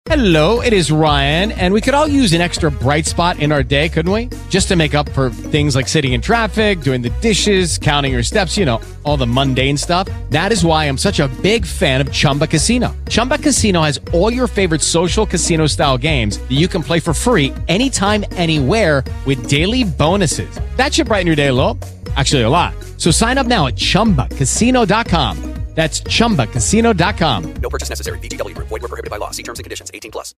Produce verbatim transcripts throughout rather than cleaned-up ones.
Hello, it is Ryan, and we could all use an extra bright spot in our day, couldn't we? Just to make up for things like sitting in traffic, doing the dishes, counting your steps, you know, all the mundane stuff. That is why I'm such a big fan of Chumba Casino. Chumba Casino has all your favorite social casino-style games that you can play for free anytime, anywhere with daily bonuses. That should brighten your day a little. Actually, a lot. So sign up now at chumba casino dot com. That's chumba casino dot com. No purchase necessary. V G W Group. Void where prohibited by law. See terms and conditions. eighteen plus.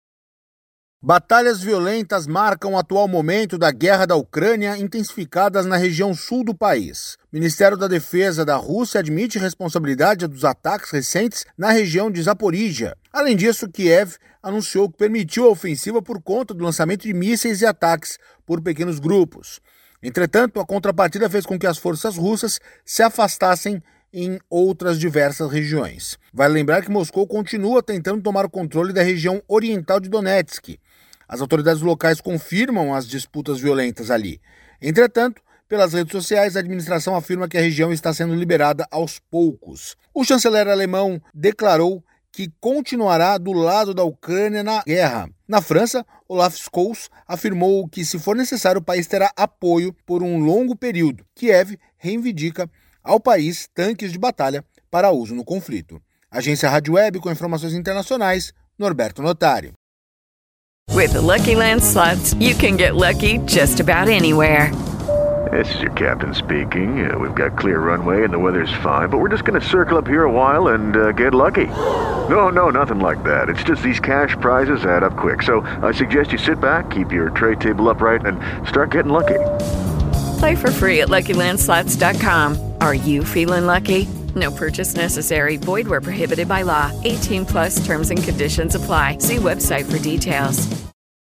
Batalhas violentas marcam o atual momento da guerra da Ucrânia, intensificadas na região sul do país. O Ministério da Defesa da Rússia admite responsabilidade dos ataques recentes na região de Zaporíjia. Além disso, Kiev anunciou que permitiu a ofensiva por conta do lançamento de mísseis e ataques por pequenos grupos. Entretanto, a contrapartida fez com que as forças russas se afastassem em outras diversas regiões. Vale lembrar que Moscou continua tentando tomar o controle da região oriental de Donetsk. As autoridades locais confirmam as disputas violentas ali. Entretanto, pelas redes sociais, a administração afirma que a região está sendo liberada aos poucos. O chanceler alemão declarou que continuará do lado da Ucrânia na guerra. Na França, Olaf Scholz afirmou que, se for necessário, o país terá apoio por um longo período. Kiev reivindica ao país tanques de batalha para uso no conflito. Agência Rádio Web com informações internacionais, Norberto Notário. With the Lucky Land Slots, you can get lucky just about anywhere. This is your captain speaking. Uh, we've got clear runway and the weather's fine, but we're just going to circle up here a while and uh, get lucky. No, no, nothing like that. It's just these cash prizes add up quick. So I suggest you sit back, keep your tray table upright, and start getting lucky. Play for free at lucky land slots dot com. Are you feeling lucky? No purchase necessary. Void where prohibited by law. eighteen plus terms and conditions apply. See website for details.